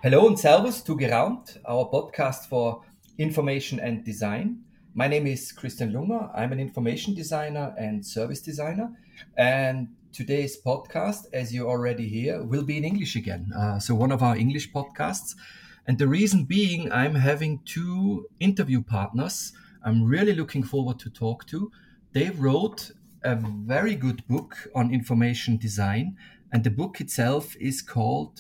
Hello and Servus to Geraumt, our podcast for information and design. My name is Christian Lunger. I'm an information designer and service designer. And today's podcast, as you already hear, will be in English again. So one of our English podcasts. And the reason being, I'm having two interview partners I'm really looking forward to talk to. They wrote a very good book on information design. And the book itself is called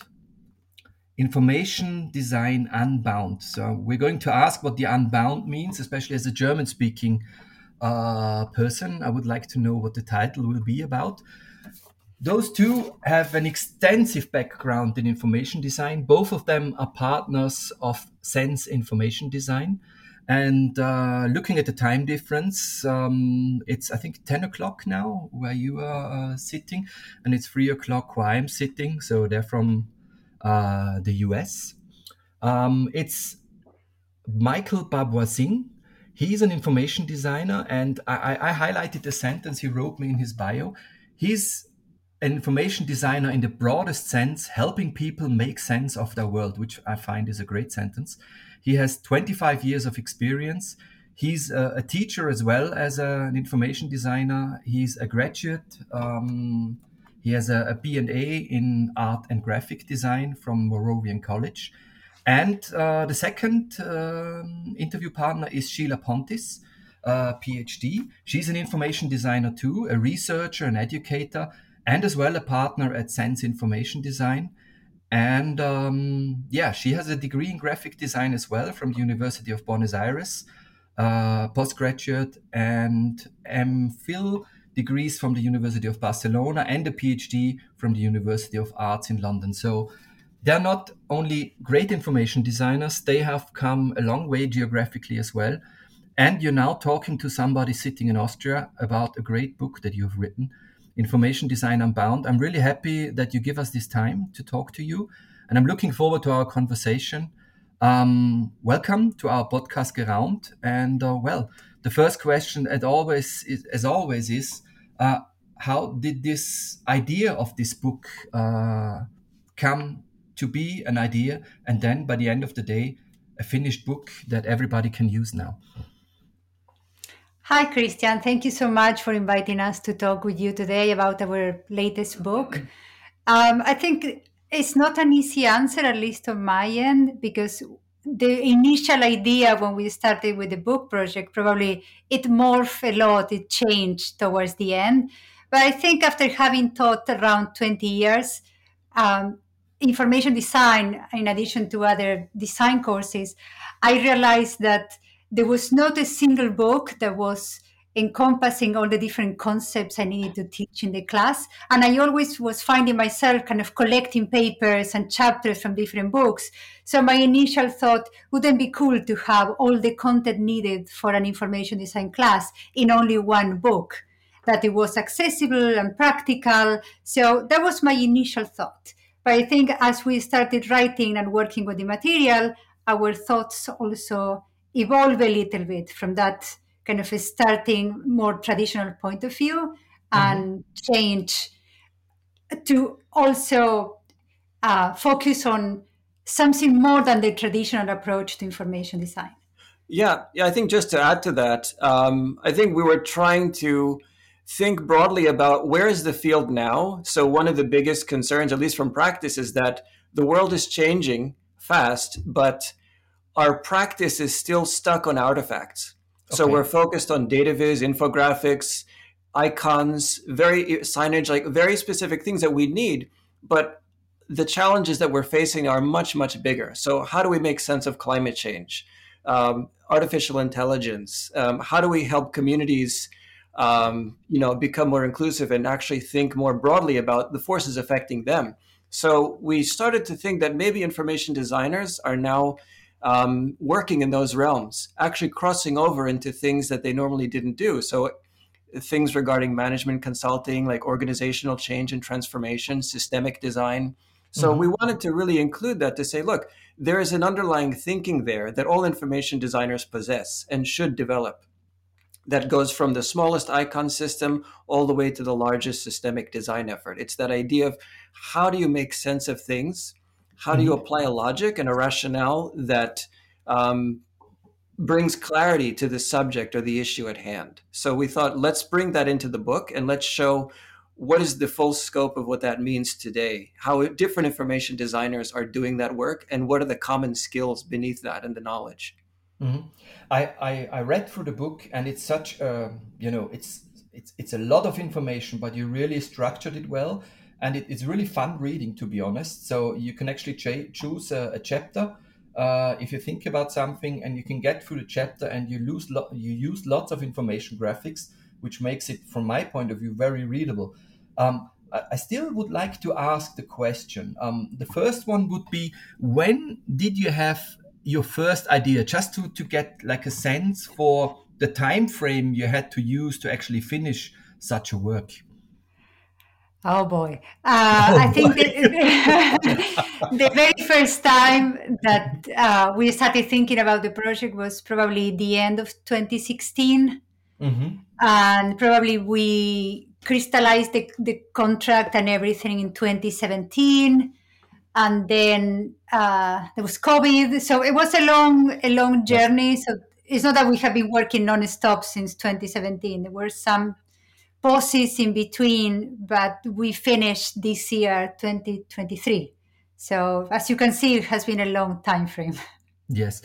Information Design Unbound. So we're going to ask what the unbound means, especially as a German-speaking person. I would like to know what the title will be about. Those two have an extensive background in information design. Both of them are partners of Sense Information Design. And looking at the time difference, it's, I think, 10 o'clock now where you are sitting, and it's 3 o'clock where I'm sitting. So they're from the US. It's Michael Babwar-Singh. He's an information designer, and I highlighted the sentence he wrote me in his bio. He's an information designer in the broadest sense, helping people make sense of their world, which I find is a great sentence. He has 25 years of experience. He's a teacher as well as an information designer. He's a graduate. He has a B&A in art and graphic design from Moravian College. And the second interview partner is Sheila Pontis, PhD. She's an information designer too, a researcher, an educator, and as well a partner at Sense Information Design. And she has a degree in graphic design as well from the University of Buenos Aires, postgraduate and MPhil degrees from the University of Barcelona and a PhD from the University of Arts in London. So they're not only great information designers, they have come a long way geographically as well. And you're now talking to somebody sitting in Austria about a great book that you've written, Information Design Unbound. I'm really happy that you give us this time to talk to you, and I'm looking forward to our conversation. Welcome to our podcast Geraumt. And the first question, as always, is how did this idea of this book come to be an idea, and then by the end of the day, a finished book that everybody can use now? Hi, Christian. Thank you so much for inviting us to talk with you today about our latest book. I think it's not an easy answer, at least on my end, because the initial idea when we started with the book project, probably it morphed a lot, it changed towards the end. But I think after having taught around 20 years, information design, in addition to other design courses, I realized that there was not a single book that was encompassing all the different concepts I needed to teach in the class. And I always was finding myself kind of collecting papers and chapters from different books. So my initial thought, wouldn't it be cool to have all the content needed for an information design class in only one book, that it was accessible and practical. So that was my initial thought. But I think as we started writing and working with the material, our thoughts also evolve a little bit from that kind of a starting more traditional point of view and change to also focus on something more than the traditional approach to information design. Yeah, I think just to add to that, I think we were trying to think broadly about where is the field now. So one of the biggest concerns, at least from practice, is that the world is changing fast, but our practice is still stuck on artifacts. So we're focused on data viz, infographics, icons, very signage, like very specific things that we need. But the challenges that we're facing are much, much bigger. So how do we make sense of climate change, artificial intelligence? How do we help communities, become more inclusive and actually think more broadly about the forces affecting them? So we started to think that maybe information designers are now working in those realms, actually crossing over into things that they normally didn't do. So things regarding management consulting, like organizational change and transformation, systemic design. So we wanted to really include that to say, look, there is an underlying thinking there that all information designers possess and should develop, that goes from the smallest icon system all the way to the largest systemic design effort. It's that idea of how do you make sense of things how do you apply a logic and a rationale that brings clarity to the subject or the issue at hand. So we thought, let's bring that into the book and let's show what is the full scope of what that means today, how different information designers are doing that work, and what are the common skills beneath that and the knowledge. Mm-hmm. I read through the book, and it's such it's a lot of information, but you really structured it well, and it's really fun reading, to be honest. So you can actually choose a chapter if you think about something, and you can get through the chapter, and you use lots of information graphics, which makes it, from my point of view, very readable. I still would like to ask the question. The first one would be, when did you have your first idea, just to get like a sense for the time frame you had to use to actually finish such a work? Oh boy. I think the very first time that we started thinking about the project was probably the end of 2016. Mm-hmm. And probably we crystallized the contract and everything in 2017. And then there was COVID. So it was a long journey. So it's not that we have been working non-stop since 2017. There were some pauses in between, but we finished this year, 2023. So as you can see, it has been a long time frame. Yes.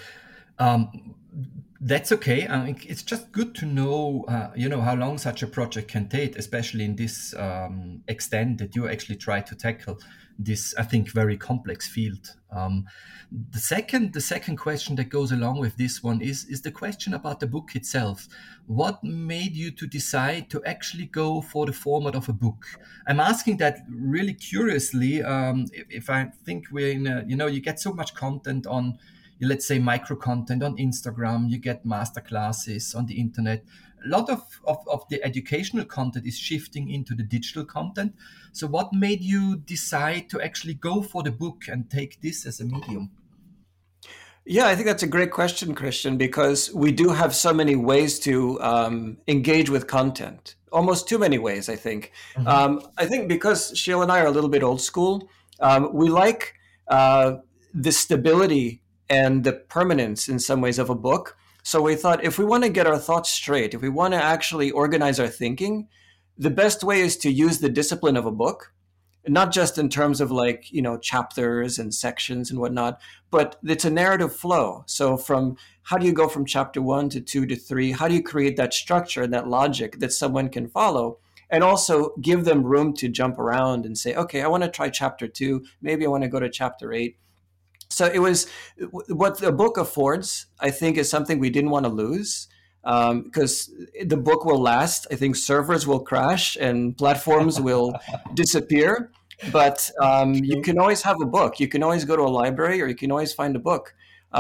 That's okay. I mean, it's just good to know, how long such a project can take, especially in this extent that you actually try to tackle this, I think, very complex field. The second question that goes along with this one is the question about the book itself. What made you to decide to actually go for the format of a book? I'm asking that really curiously. If I think we're in you get so much content on, let's say, micro content on Instagram, you get master classes on the internet. A lot of the educational content is shifting into the digital content. So what made you decide to actually go for the book and take this as a medium? Yeah, I think that's a great question, Christian, because we do have so many ways to engage with content. Almost too many ways, I think. Mm-hmm. I think because Sheila and I are a little bit old school, we like the stability and the permanence in some ways of a book. So we thought, if we want to get our thoughts straight, if we want to actually organize our thinking, the best way is to use the discipline of a book, not just in terms of chapters and sections and whatnot, but it's a narrative flow. So from how do you go from chapter 1 to 2 to 3? How do you create that structure and that logic that someone can follow? And also give them room to jump around and say, okay, I want to try chapter 2. Maybe I want to go to chapter 8. So it was what the book affords, I think, is something we didn't want to lose, because the book will last. I think servers will crash and platforms will disappear. But you can always have a book. You can always go to a library, or you can always find a book.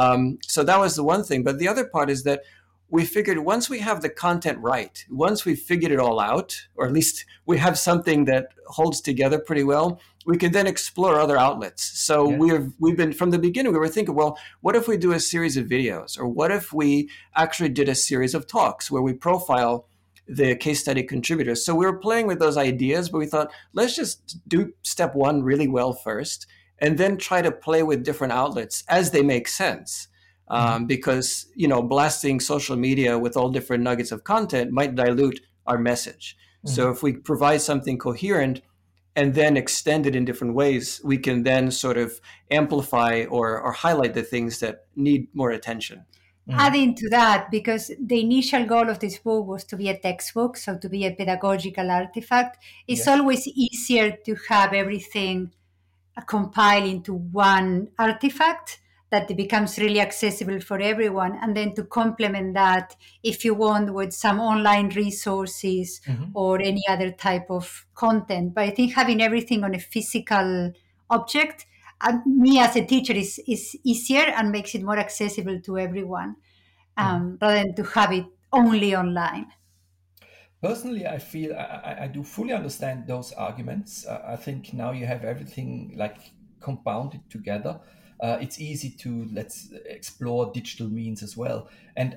So that was the one thing. But the other part is that we figured once we have the content right, once we've figured it all out, or at least we have something that holds together pretty well, we can then explore other outlets. So we've been, from the beginning, we were thinking, well, what if we do a series of videos? Or what if we actually did a series of talks where we profile the case study contributors? So we were playing with those ideas, but we thought, let's just do step 1 really well first, and then try to play with different outlets as they make sense. Because, blasting social media with all different nuggets of content might dilute our message. Mm-hmm. So if we provide something coherent and then extend it in different ways, we can then sort of amplify or highlight the things that need more attention. Mm-hmm. Adding to that, because the initial goal of this book was to be a textbook, so to be a pedagogical artifact, it's always easier to have everything compiled into one artifact that it becomes really accessible for everyone. And then to complement that, if you want, with some online resources or any other type of content. But I think having everything on a physical object, me as a teacher, is easier and makes it more accessible to everyone, rather than to have it only online. Personally, I feel I do fully understand those arguments. I think now you have everything like compounded together. It's easy to let's explore digital means as well. And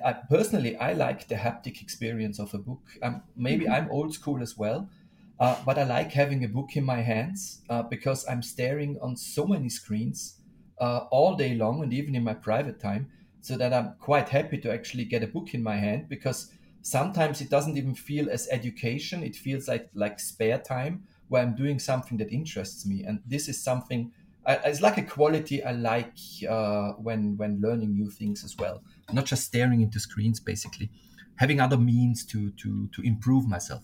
I like the haptic experience of a book. Maybe I'm old school as well, but I like having a book in my hands because I'm staring on so many screens all day long and even in my private time, so that I'm quite happy to actually get a book in my hand, because sometimes it doesn't even feel as education. It feels like spare time where I'm doing something that interests me. And this is something, it's like a quality I like when learning new things as well. Not just staring into screens, basically. Having other means to improve myself.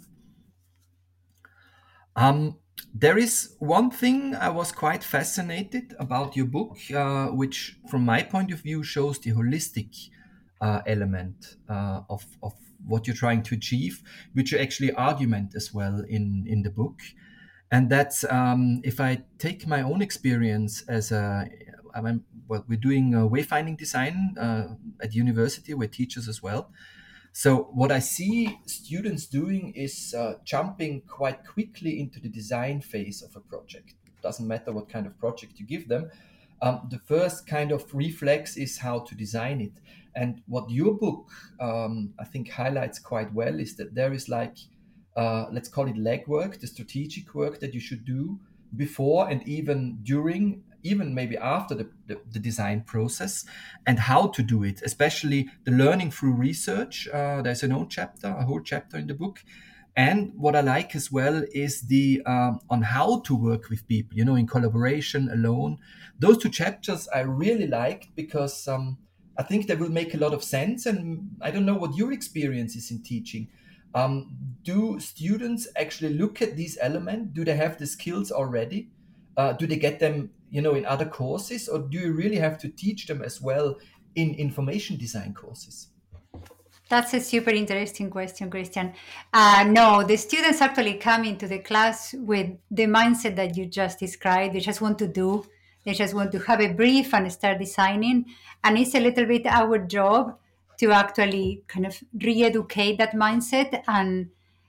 There is one thing I was quite fascinated about your book, which from my point of view shows the holistic element of what you're trying to achieve, which you actually argument as well in the book. And that's, if I take my own experience as well, we're doing wayfinding design at university. We're teachers as well. So what I see students doing is jumping quite quickly into the design phase of a project. Doesn't matter what kind of project you give them. The first kind of reflex is how to design it. And what your book, I think, highlights quite well is that there is like, let's call it legwork, the strategic work that you should do before and even during, even maybe after the design process, and how to do it, especially the learning through research. There's a whole chapter in the book. And what I like as well is the on how to work with people, in collaboration, alone. Those two chapters I really liked, because I think they will make a lot of sense. And I don't know what your experience is in teaching. Do students actually look at these elements? Do they have the skills already? Do they get them, in other courses, or do you really have to teach them as well in information design courses? That's a super interesting question, Christian. No, the students actually come into the class with the mindset that you just described. They just want to do. They just want to have a brief and start designing. And it's a little bit our job to actually kind of re-educate that mindset and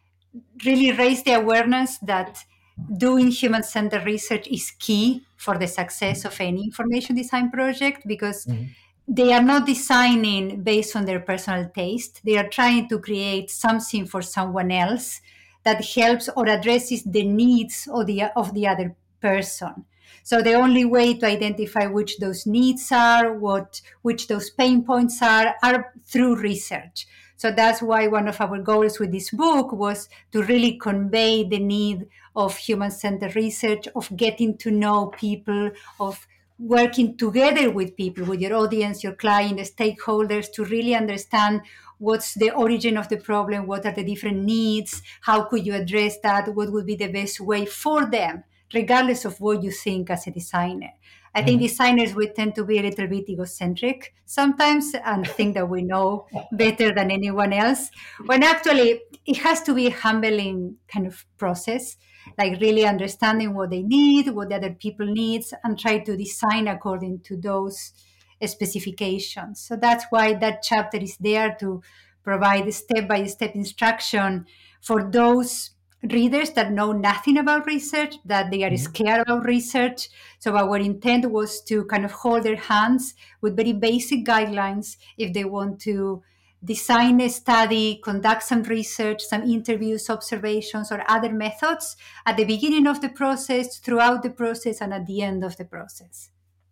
really raise the awareness that doing human-centered research is key for the success of any information design project, because they are not designing based on their personal taste. They are trying to create something for someone else that helps or addresses the needs of the other person. So the only way to identify which those needs are, which those pain points are through research. So that's why one of our goals with this book was to really convey the need of human-centered research, of getting to know people, of working together with people, with your audience, your client, the stakeholders, to really understand what's the origin of the problem, what are the different needs, how could you address that, what would be the best way for them, regardless of what you think as a designer. I think designers, we tend to be a little bit egocentric sometimes and think that we know better than anyone else, when actually it has to be a humbling kind of process, like really understanding what they need, what the other people needs, and try to design according to those specifications. So that's why that chapter is there, to provide step-by-step instruction for those readers that know nothing about research, that they are scared about research. So our intent was to kind of hold their hands with very basic guidelines if they want to design a study, conduct some research, some interviews, observations, or other methods at the beginning of the process, throughout the process, and at the end of the process.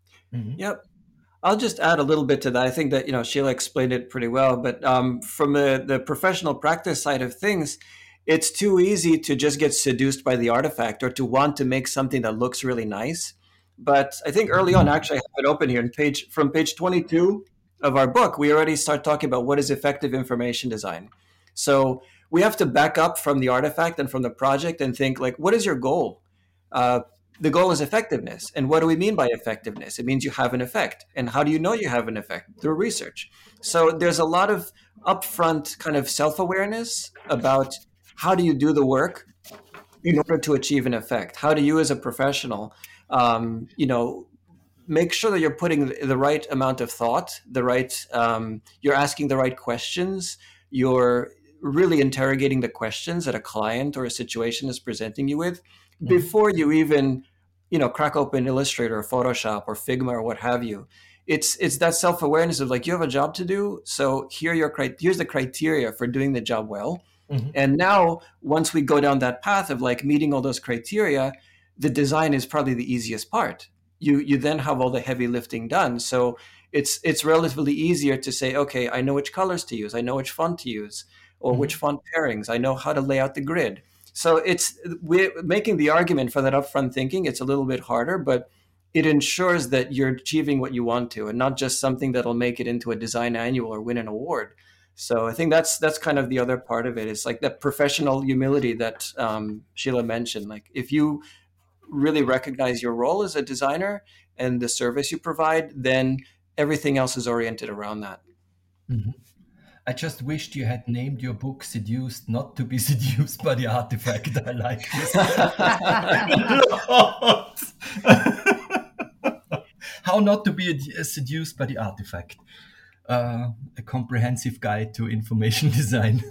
Yep. I'll just add a little bit to that. I think that, Sheila explained it pretty well, but from the professional practice side of things, it's too easy to just get seduced by the artifact or to want to make something that looks really nice. But I think early on, actually, I have it open here, from page 22 of our book, we already start talking about what is effective information design. So we have to back up from the artifact and from the project and think, like, what is your goal? The goal is effectiveness. And what do we mean by effectiveness? It means you have an effect. And how do you know you have an effect? Through research. So there's a lot of upfront kind of self-awareness about how do you do the work in order to achieve an effect? How do you, as a professional, make sure that you're putting the right amount of thought, you're asking the right questions, you're really interrogating the questions that a client or a situation is presenting you with before you even, crack open Illustrator or Photoshop or Figma or what have you. It's that self-awareness of like, you have a job to do, so here's the criteria for doing the job well. And now, once we go down that path of like meeting all those criteria, the design is probably the easiest part. you then have all the heavy lifting done. So it's relatively easier to say, okay, I know which colors to use, I know which font to use, or which font pairings, I know how to lay out the grid. So we're making the argument for that upfront thinking. It's a little bit harder, but it ensures that you're achieving what you want to, and not just something that'll make it into a design annual or win an award. So I think that's kind of the other part of it. It's like that professional humility that Sheila mentioned. Like if you really recognize your role as a designer and the service you provide, then everything else is oriented around that. Mm-hmm. I just wished you had named your book "Seduced Not to Be Seduced by the Artifact." I like this. How not to be seduced by the artifact. A comprehensive guide to information design.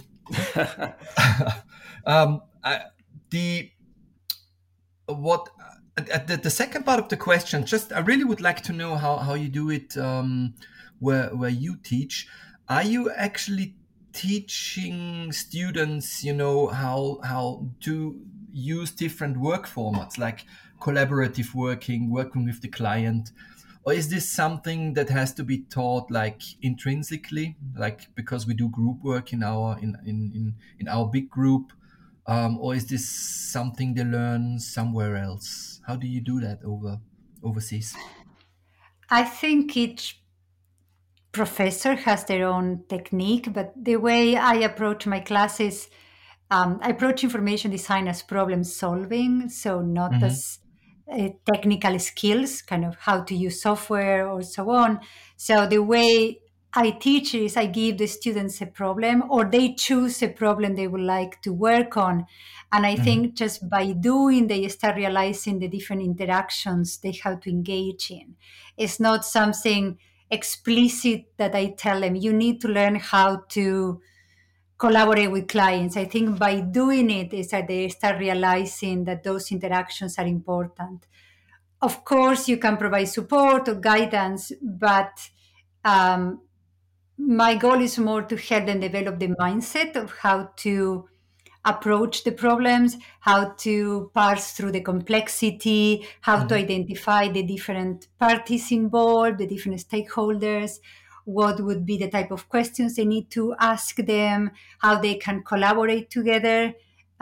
The second part of the question, just I really would like to know how you do it where you teach. Are you actually teaching students, how to use different work formats like collaborative working with the client? Or is this something that has to be taught like intrinsically, like because we do group work in our big group? Or is this something they learn somewhere else? How do you do that overseas? I think each professor has their own technique, but the way I approach my classes, I approach information design as problem solving, so not as technical skills, kind of how to use software or so on. So the way I teach is I give the students a problem, or they choose a problem they would like to work on. And I think just by doing, they start realizing the different interactions they have to engage in. It's not something explicit that I tell them, you need to learn how to collaborate with clients. I think by doing it is that they start realizing that those interactions are important. Of course, you can provide support or guidance, but my goal is more to help them develop the mindset of how to approach the problems, how to parse through the complexity, how to identify the different parties involved, the different stakeholders, what would be the type of questions they need to ask them, how they can collaborate together.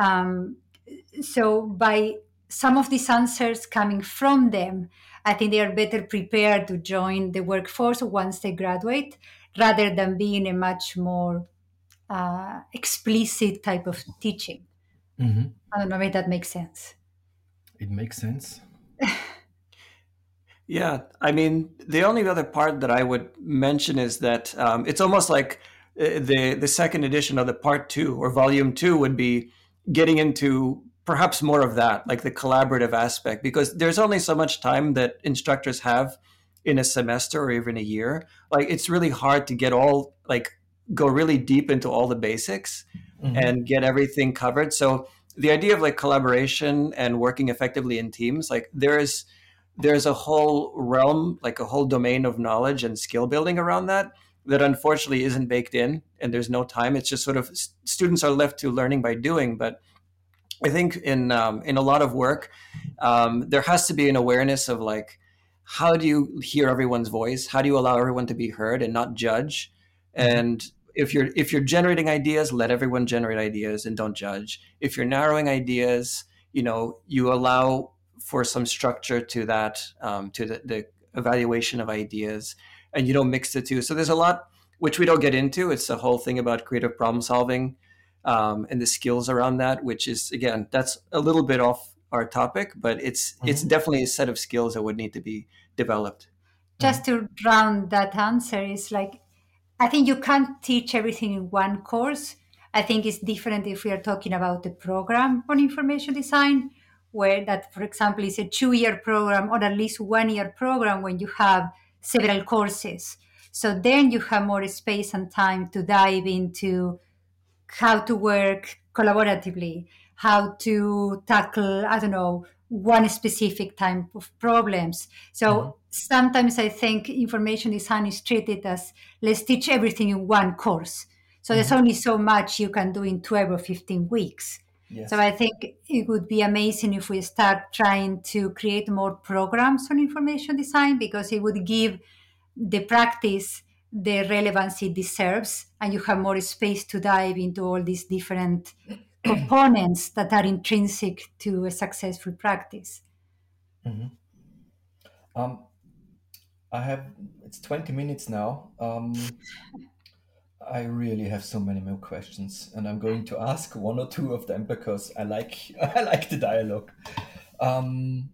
So by some of these answers coming from them, I think they are better prepared to join the workforce once they graduate, rather than being a much more explicit type of teaching. I don't know if that makes sense. It makes sense. Yeah, I mean, the only other part that I would mention is that it's almost like the second edition of the part 2 or volume 2 would be getting into perhaps more of that, like the collaborative aspect, because there's only so much time that instructors have in a semester or even a year. Like it's really hard to go really deep into all the basics and get everything covered. So the idea of like collaboration and working effectively in teams, like there's a whole realm, like a whole domain of knowledge and skill building around that unfortunately isn't baked in, and there's no time. It's just sort of students are left to learning by doing. But I think in a lot of work, there has to be an awareness of like, how do you hear everyone's voice? How do you allow everyone to be heard and not judge? And if you're generating ideas, let everyone generate ideas and don't judge. If you're narrowing ideas, you allow for some structure to that, to the evaluation of ideas, and you don't mix the two. So there's a lot which we don't get into. It's the whole thing about creative problem solving and the skills around that, which is, again, that's a little bit off our topic, but it's definitely a set of skills that would need to be developed. Just to round that answer is like, I think you can't teach everything in one course. I think it's different if we are talking about the program on information design, where that, for example, is a 2-year program or at least 1-year program when you have several courses. So then you have more space and time to dive into how to work collaboratively, how to tackle, I don't know, one specific type of problems. So sometimes I think information design is treated as, let's teach everything in one course. So there's only so much you can do in 12 or 15 weeks. Yes. So I think it would be amazing if we start trying to create more programs on information design, because it would give the practice the relevance it deserves, and you have more space to dive into all these different components that are intrinsic to a successful practice. Um, it's 20 minutes now. I really have so many more questions, and I'm going to ask one or two of them because I like I like the dialogue. Um,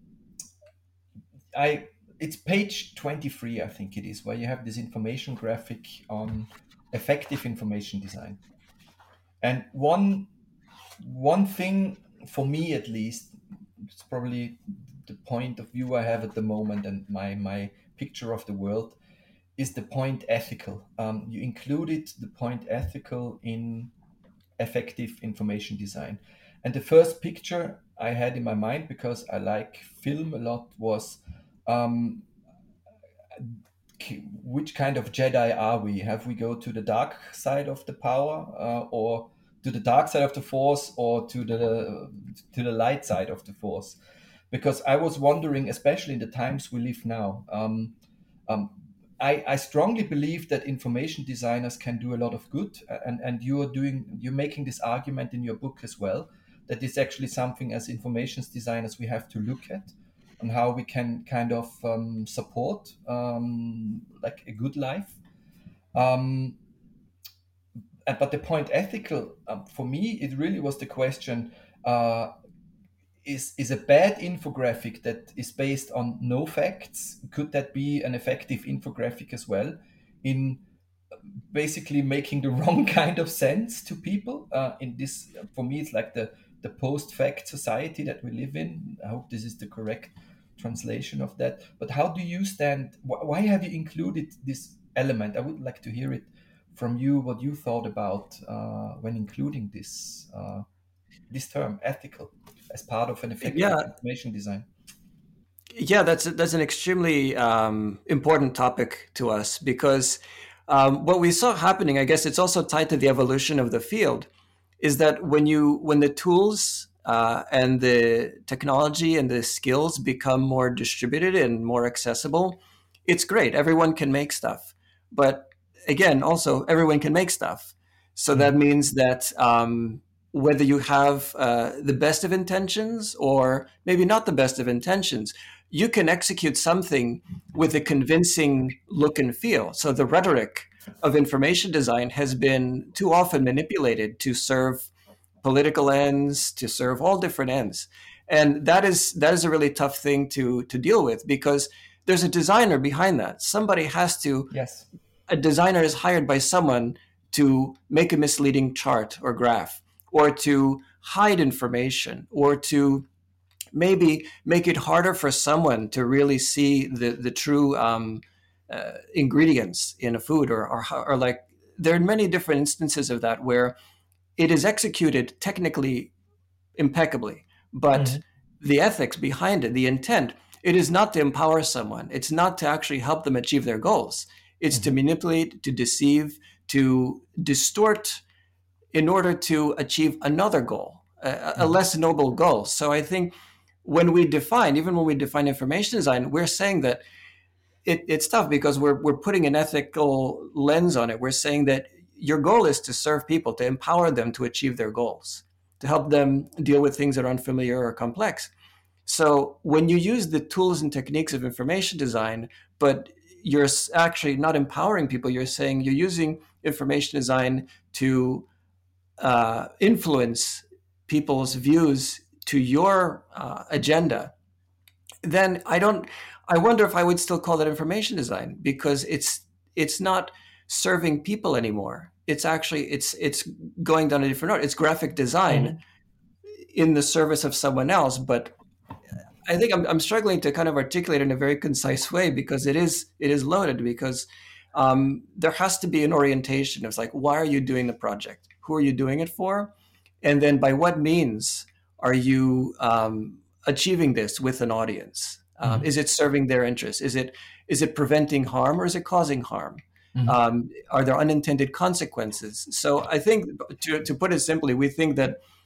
it's page 23, I think it is, where you have this information graphic on effective information design. And one thing, for me at least, it's probably the point of view I have at the moment and my picture of the world, is the point ethical. You included the point ethical in effective information design. And the first picture I had in my mind, because I like film a lot, was um, which kind of Jedi are we? Have we go to the dark side of the power, or to the dark side of the Force, or to the light side of the Force? Because I was wondering, especially in the times we live now, um, I strongly believe that information designers can do a lot of good, and you're making this argument in your book as well, that it's actually something as information designers we have to look at, on how we can kind of support like a good life. But the point ethical, for me, it really was the question: is a bad infographic that is based on no facts, could that be an effective infographic as well, in basically making the wrong kind of sense to people? In this, for me, it's like the post-fact society that we live in. I hope this is the correct translation of that. But how do you stand? Why have you included this element? I would like to hear it from you, what you thought about when including this term ethical as part of an effective information design. Yeah, that's an extremely important topic to us, because what we saw happening, I guess it's also tied to the evolution of the field, is that when the tools and the technology and the skills become more distributed and more accessible, it's great. Everyone can make stuff, but again, also everyone can make stuff. So that means that whether you have the best of intentions or maybe not the best of intentions, you can execute something with a convincing look and feel. So the rhetoric of information design has been too often manipulated to serve political ends, to serve all different ends. And that is a really tough thing to deal with, because there's a designer behind that. Somebody has to, yes. A designer is hired by someone to make a misleading chart or graph, or to hide information, or to maybe make it harder for someone to really see the true ingredients in a food, or like, there are many different instances of that where it is executed technically impeccably, but the ethics behind it, the intent, it is not to empower someone. It's not to actually help them achieve their goals. It's to manipulate, to deceive, to distort in order to achieve another goal, a less noble goal. So I think when we define information design, we're saying that it's tough, because we're putting an ethical lens on it. We're saying that your goal is to serve people, to empower them to achieve their goals, to help them deal with things that are unfamiliar or complex. So when you use the tools and techniques of information design, but you're actually not empowering people, you're saying you're using information design to influence people's views to your agenda, then I wonder if I would still call that information design, because it's not serving people anymore. It's actually it's going down a different road. It's graphic design in the service of someone else. But I think I'm struggling to kind of articulate it in a very concise way, because it is loaded, because there has to be an orientation. It's like, why are you doing the project? Who are you doing it for? And then by what means are you achieving this with an audience? Is it serving their interests? Is it preventing harm, or is it causing harm? Are there unintended consequences? So I think, to put it simply, we think that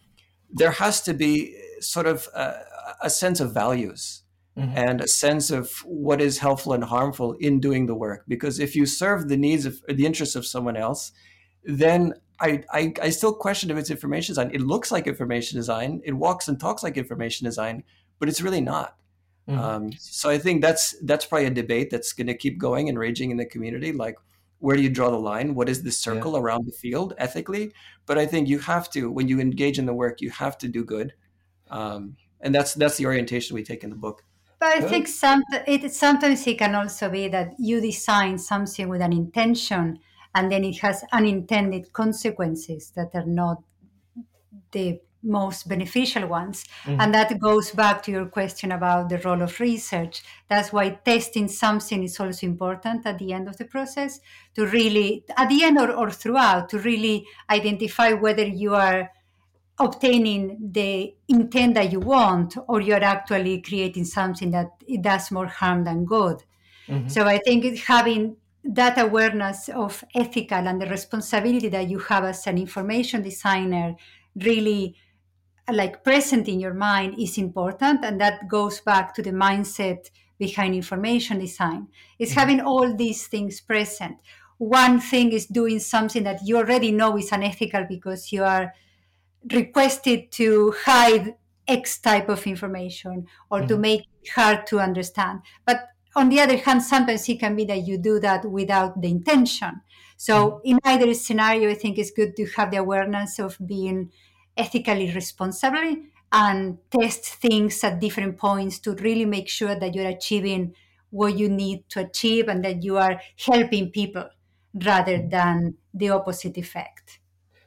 there has to be sort of a sense of values and a sense of what is helpful and harmful in doing the work. Because if you serve the needs of the interests of someone else, then I still question if it's information design. It looks like information design. It walks and talks like information design, but it's really not. So I think that's probably a debate that's going to keep going and raging in the community. Like, where do you draw the line? What is the circle around the field ethically? But I think you have to, when you engage in the work, you have to do good. And that's the orientation we take in the book. But I think sometimes it can also be that you design something with an intention, and then it has unintended consequences that are not the most beneficial ones. And that goes back to your question about the role of research. That's why testing something is also important at the end of the process, to really, at the end or throughout, to really identify whether you are obtaining the intent that you want, or you're actually creating something that it does more harm than good. So I think having that awareness of ethical and the responsibility that you have as an information designer really like present in your mind is important. And that goes back to the mindset behind information design. It's having all these things present. One thing is doing something that you already know is unethical because you are requested to hide X type of information or to make it hard to understand. But on the other hand, sometimes it can be that you do that without the intention. So in either scenario, I think it's good to have the awareness of being ethically responsible and test things at different points to really make sure that you're achieving what you need to achieve and that you are helping people rather than the opposite effect.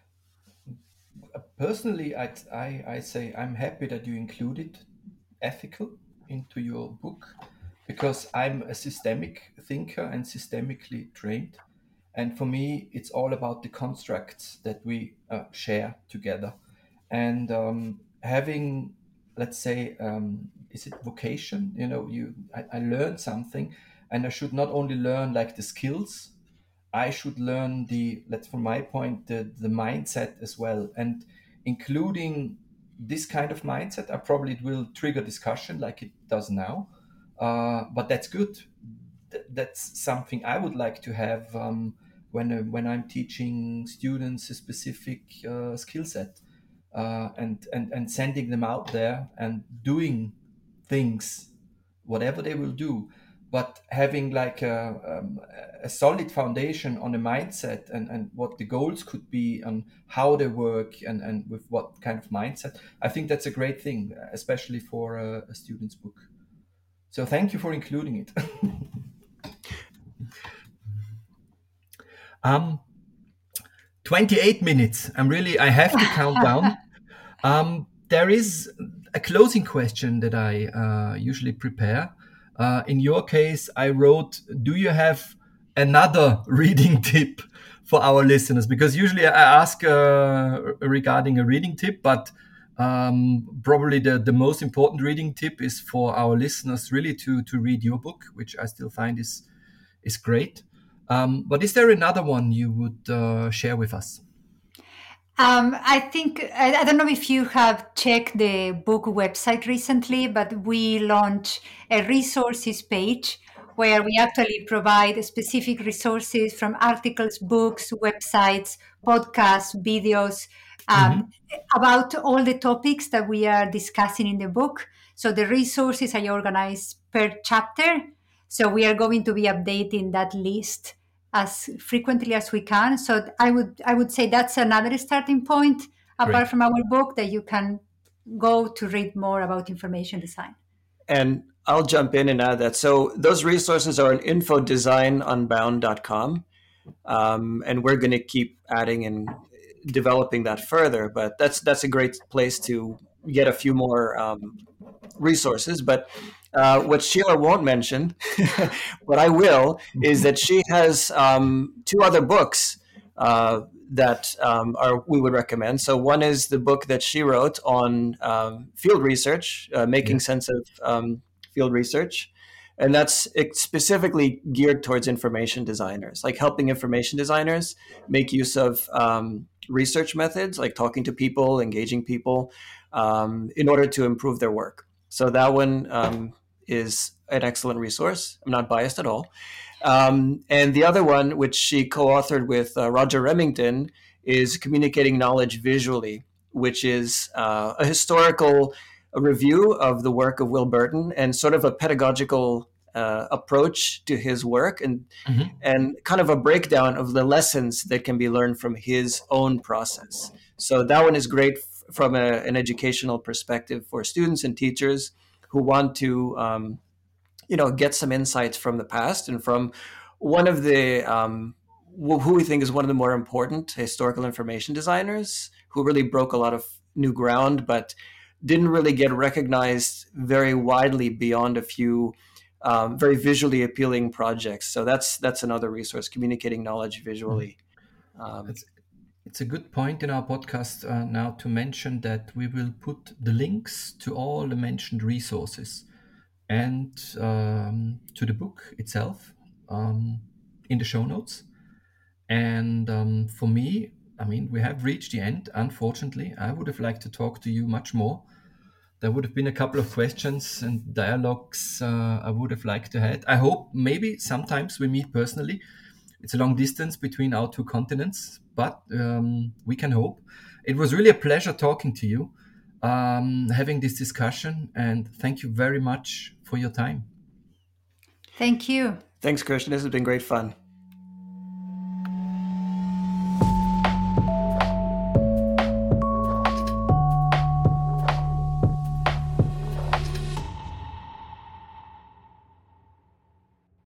Personally, I say I'm happy that you included ethical into your book, because I'm a systemic thinker and systemically trained. And for me, it's all about the constructs that we share together. And having, let's say, is it vocation? I learned something, and I should not only learn like the skills, I should learn from my point, the mindset as well. And including this kind of mindset, it will trigger discussion like it does now. But that's good. That's something I would like to have when I'm teaching students a specific skill set, and sending them out there and doing things, whatever they will do, but having like a solid foundation on a mindset and what the goals could be and how they work and with what kind of mindset. I think that's a great thing, especially for a student's book. So thank you for including it. 28 minutes. I have to count down. There is a closing question that I usually prepare. In your case, I wrote, do you have another reading tip for our listeners? Because usually I ask regarding a reading tip, but probably the most important reading tip is for our listeners really to read your book, which I still find is great. But is there another one you would share with us? I think, I don't know if you have checked the book website recently, but we launched a resources page where we actually provide specific resources from articles, books, websites, podcasts, videos, about all the topics that we are discussing in the book. So the resources are organized per chapter. So we are going to be updating that list as frequently as we can. So I would say that's another starting point, apart from our book, that you can go to read more about information design. And I'll jump in and add that. So those resources are on infodesignunbound.com. And we're going to keep adding and developing that further. But that's a great place to get a few more resources. But what Sheila won't mention, but I will, is that she has 2 other books that we would recommend. So one is the book that she wrote on field research, making sense of field research. And that's specifically geared towards information designers, like helping information designers make use of research methods, like talking to people, engaging people, in order to improve their work. So that one is an excellent resource. I'm not biased at all. And the other one, which she co-authored with Roger Remington, is Communicating Knowledge Visually, which is a historical review of the work of Will Burton and sort of a pedagogical approach to his work, and kind of a breakdown of the lessons that can be learned from his own process. So that one is great from an educational perspective for students and teachers who want to get some insights from the past and from one of the who we think is one of the more important historical information designers, who really broke a lot of new ground, but didn't really get recognized very widely beyond a few very visually appealing projects. So that's another resource, Communicating Knowledge Visually. It's a good point in our podcast now to mention that we will put the links to all the mentioned resources and to the book itself in the show notes. And for me, I mean, we have reached the end, unfortunately. I would have liked to talk to you much more. There would have been a couple of questions and dialogues I would have liked to have. I hope maybe sometimes we meet personally. It's a long distance between our two continents, but we can hope. It was really a pleasure talking to you, having this discussion, and thank you very much for your time. Thank you. Thanks, Christian. This has been great fun.